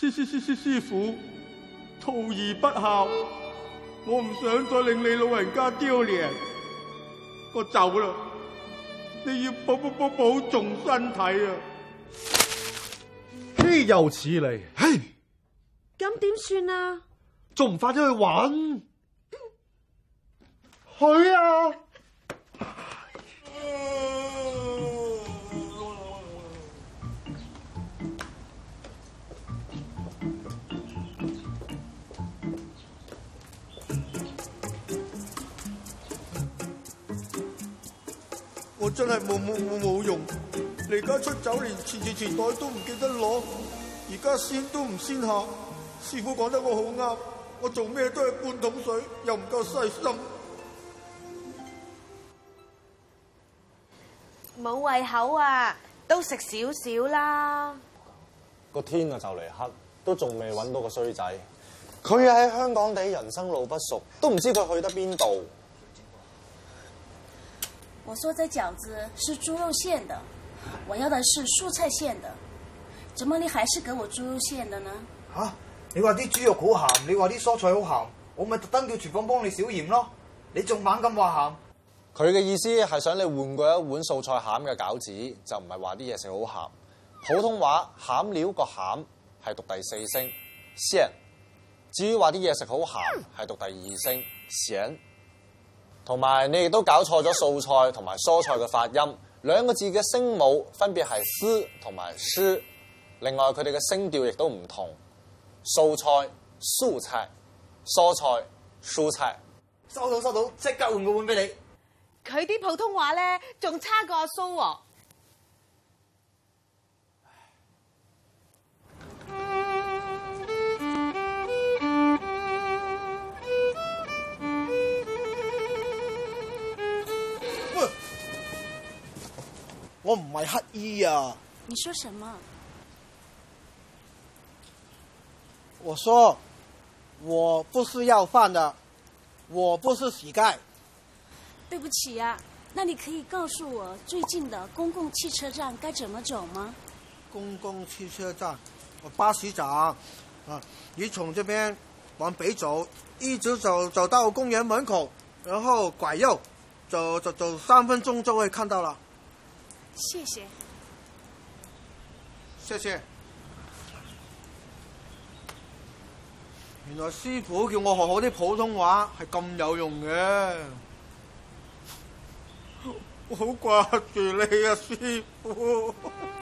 師傅，徒兒不孝，我唔想再令你老人家丟臉，我走啦。你要保重身體啊！ 豈有此理！嘿， 咁點算啊？ 仲唔快啲去玩？去啊！ 我真係冇用，離家出走連錢袋都唔記得攞，而家先都唔先下。師傅講得我好啱，我做咩都係半桶水，又唔夠細心。 冇胃口啊，都食少少啦。 個天啊就嚟黑，都仲未揾到個衰仔。佢喺香港地，人生路不熟，都唔知佢去得邊度。 我說這餃子是豬肉餡的，我要的是蔬菜餡的，怎麼你還是給我豬肉餡的呢？ 吓，你話啲豬肉好鹹，你話啲蔬菜好鹹，我咪特登叫廚房幫你少鹽咯，你仲猛咁話鹹？ 佢嘅意思係想你換過一碗素菜餡嘅餃子，就唔係話啲嘢食好鹹。普通話餡料個餡係讀第四聲鮮，至於話啲嘢食好鹹係讀第二聲鹹。同埋你亦都搞錯咗素菜同埋蔬菜嘅發音，兩個字嘅聲母分別係絲同埋詩，另外佢哋嘅聲調亦都唔同，素菜素菜，蔬菜蔬菜。 收到，即刻換個碗俾你。 佢啲普通話咧仲差過阿蘇喎。 我唔係乞衣啊！ 你說什麼？ 我說我不是要飯的，我不是乞丐。 對不起啊，那你可以告訴我最近的公共汽車站該怎麼走嗎？ 公共汽車站，巴士站啊！你從這邊往北走，一直走到公園門口，然後拐右，走3分鐘就會看到了。 謝謝。 謝謝。原來師傅叫我學好啲普通話係咁有用嘅。 我好掛住你啊，師傅。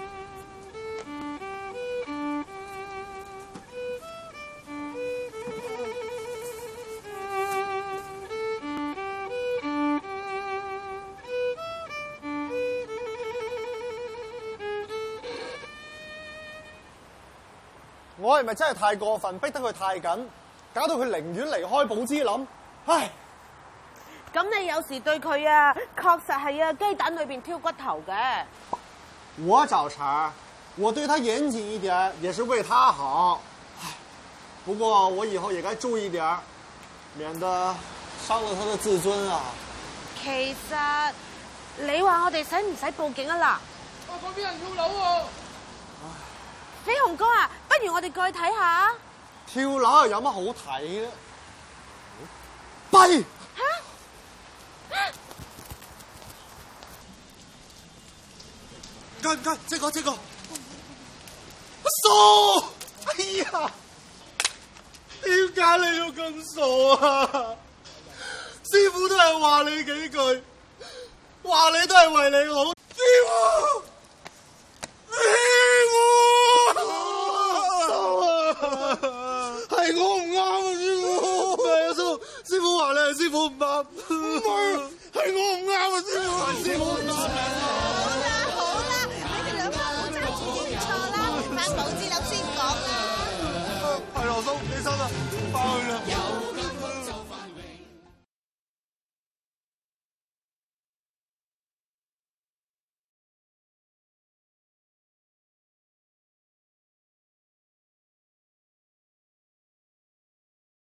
我係咪真係太過分，逼得佢太緊，搞到佢寧願離開寶芝林？唉！ 咁你有時對佢啊，確實係啊雞蛋裏邊挑骨頭嘅。 我找茬，我對他嚴謹一點，也是為他好。唉，不過我以後也該注意點，免得傷了他的自尊啊。 其實你話我哋使唔使報警啊嗱？ 嗰邊人跳樓喎！ 飛鴻哥啊，不如我哋過去睇下。 跳樓又有乜好睇咧？弊！ 唔該，這個，傻！哎呀，點解你要咁傻啊？師傅都係話你幾句，話你都係為你好。師傅，係我唔啱啊！師傅話你係師傅唔啱，係我唔啱啊！師傅唔啱。 好啦，你哋兩個唔好爭住認錯啦，返寶芝林先講啦。 係羅叔，起身啦，翻去啦。